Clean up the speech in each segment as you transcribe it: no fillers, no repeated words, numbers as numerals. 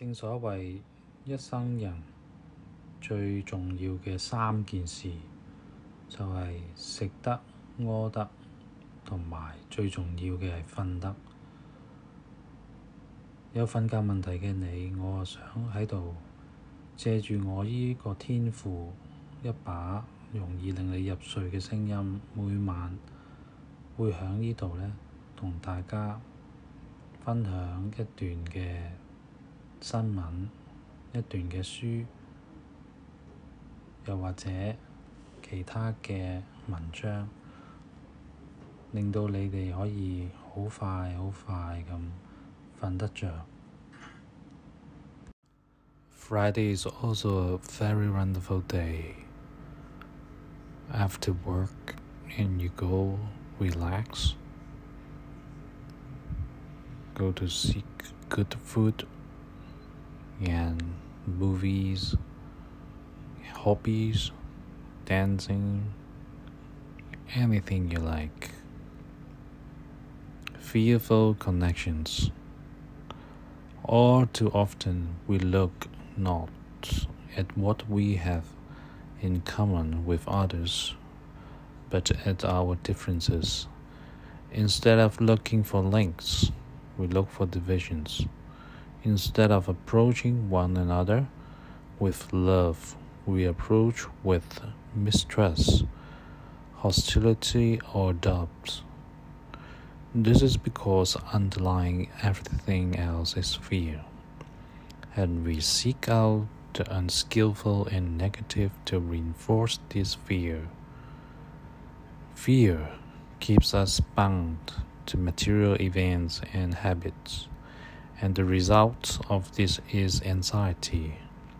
正所謂一生人最重要嘅三件事，就係食得、屙得，同埋最重要嘅係瞓得。有瞓覺問題嘅你，我想喺度借住我呢個天賦，一把容易令你入睡嘅聲音，每晚會喺呢度呢，同大家分享一段嘅新聞，一段嘅書，又或者其他嘅文章，令到你哋可以好快咁瞓得着。Friday is also a very wonderful day. After work and you go relax, go to seek good food and movies, hobbies, dancing, anything you like. Fearful connections. All too often we look not at what we have in common with others, but at our differences. Instead of looking for links, we look for divisions. Instead of approaching one another with love, we approach with mistrust, hostility, or doubt. This is because underlying everything else is fear, and we seek out the unskillful and negative to reinforce this fear. Fear keeps us bound to material events and habits, and the result of this is anxiety.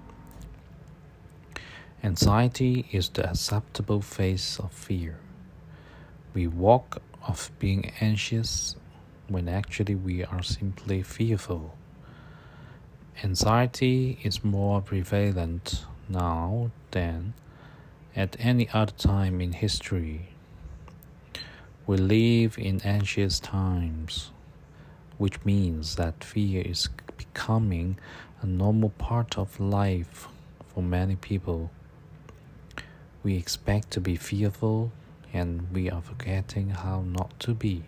Anxiety is the acceptable face of fear. We walk off being anxious when actually we are simply fearful. Anxiety is more prevalent now than at any other time in history. We live in anxious times, which means that fear is becoming a normal part of life for many people. We expect to be fearful, and we are forgetting how not to be.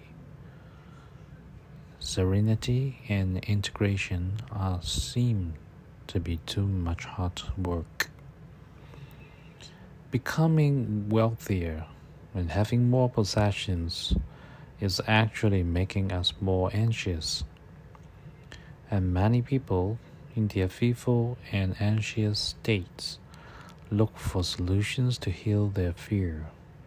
Serenity and integration seem to be too much hard work. Becoming wealthier and having more possessions is actually making us more anxious. And many people in their fearful and anxious states look for solutions to heal their fear,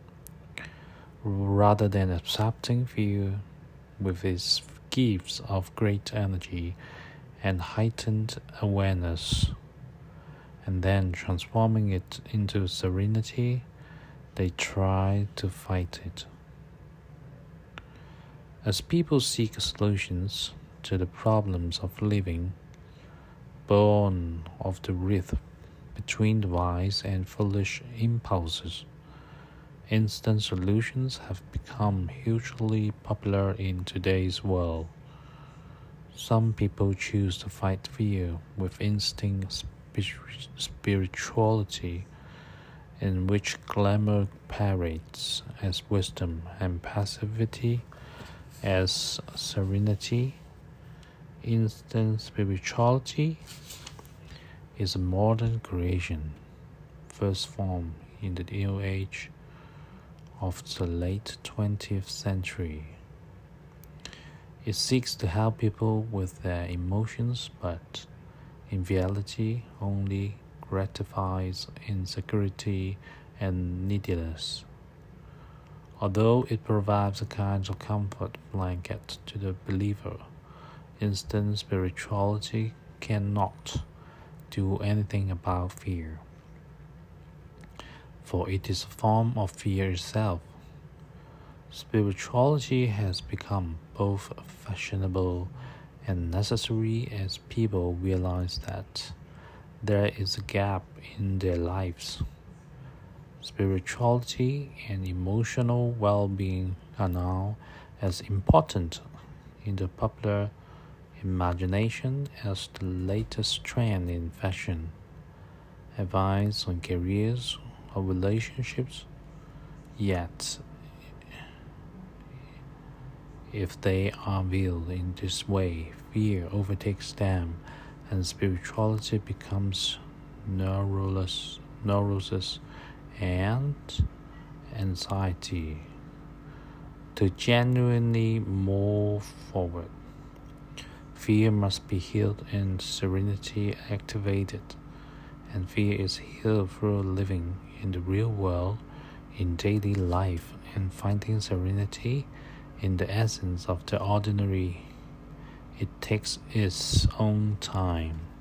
rather than accepting fear with its gifts of great energy and heightened awareness, and then transforming it into serenity. They try to fight it. As people seek solutions to the problems of living, born of the rift between the wise and foolish impulses, instant solutions have become hugely popular in today's world. Some people choose to fight fear with instinct spirituality, in which glamour parades as wisdom and passivity as serenity. Instant spirituality is a modern creation, first formed in the New Age of the late 20th century. It seeks to help people with their emotions, but in reality only gratifies insecurity and neediness. Although it provides a kind of comfort blanket to the believer, instant spirituality cannot do anything about fear, for it is a form of fear itself. Spirituality has become both fashionable and necessary as people realize that there is a gap in their lives. Spirituality and emotional well-being are now as important in the popular imagination as the latest trend in fashion, advice on careers or relationships. Yet, if they are viewed in this way, fear overtakes them and spirituality becomes neurosis and anxiety. To genuinely move forward, fear must be healed and serenity activated. And fear is healed through living in the real world, in daily life, and finding serenity in the essence of the ordinary. It takes its own time.